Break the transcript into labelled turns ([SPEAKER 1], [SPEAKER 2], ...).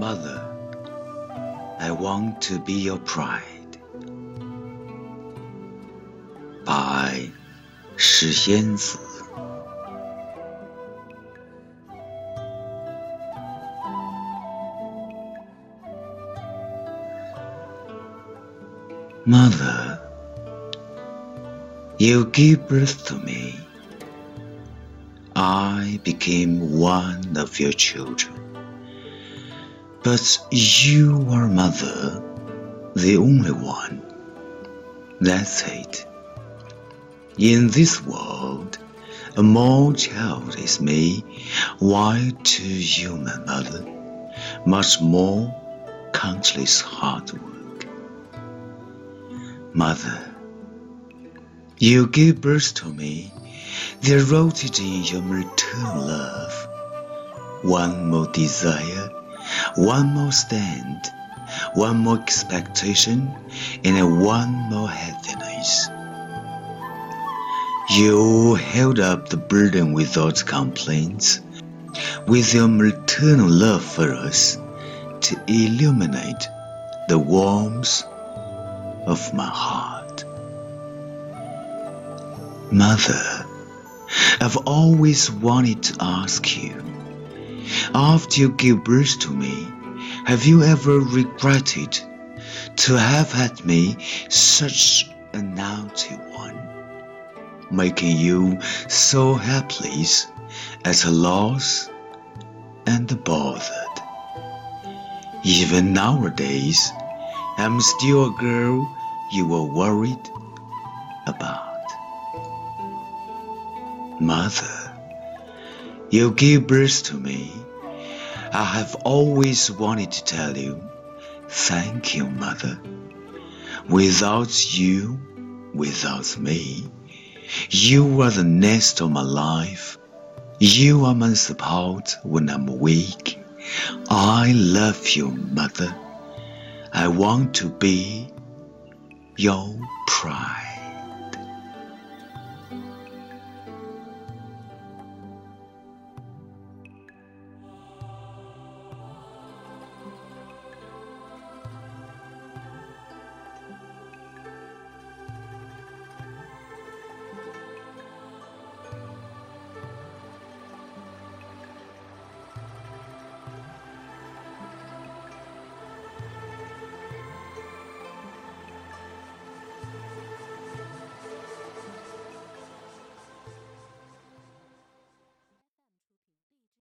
[SPEAKER 1] Mother, I want to be your pride. 白石仙子。Mother, you gave birth to me. I became one of your children. But you are mother, the only one. That's it. In this world, a more child is me, while to you, my mother, much more countless hard work. Mother, you gave birth to me, they're rooted in your maternal love. One more desire, one more stand, one more expectation, and one more happiness. You held up the burden without complaints, with your maternal love for us to illuminate the warmth of my heart. Mother, I've always wanted to ask you, after you gave birth to me, have you ever regretted to have had me such a naughty one, making you so helpless at a loss and bothered? Even nowadays, I'm still a girl you were worried about. Mother, you gave birth to me. I have always wanted to tell you, thank you, Mother. Without you, without me, you are the nest of my life. You are my support when I'm weak. I love you, Mother. I want to be your pride.